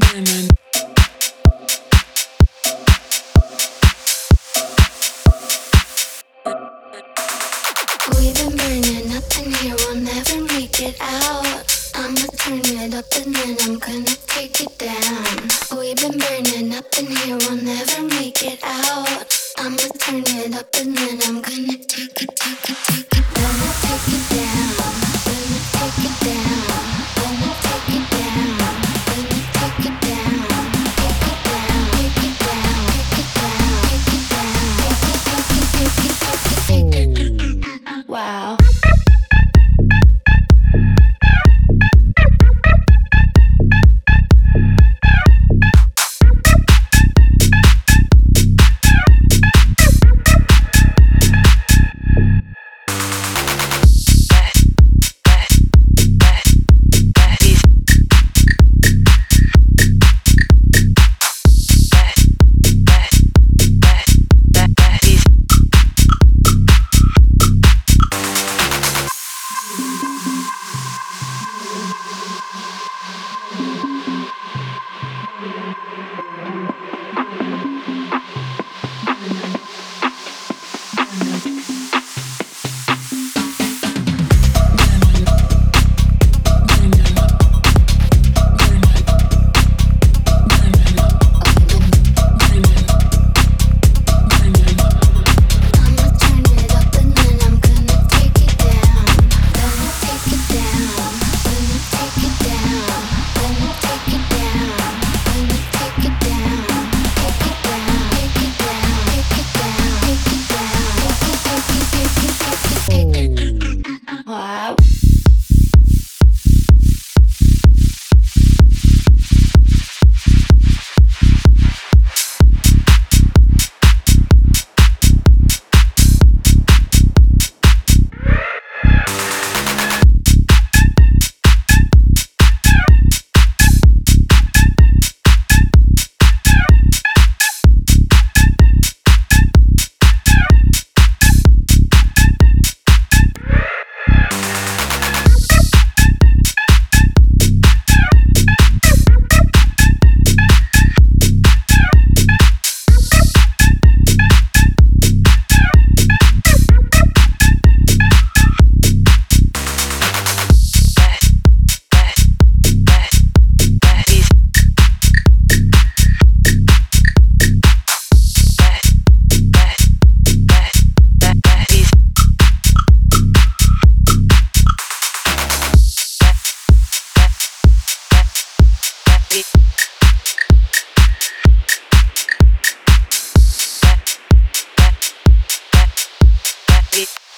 We've been burning up in here, we'll never make it out. I'ma turn it up and then I'm gonna take it down. We've been burning up in here, we'll never make it out. I'ma turn it up and then I'm gonna take it down. Gonna take it down. Gonna take it down. Gonna take it down. Gonna take it down. Take it down. Take it down. Take it down. Take it down. Wow. Wow. It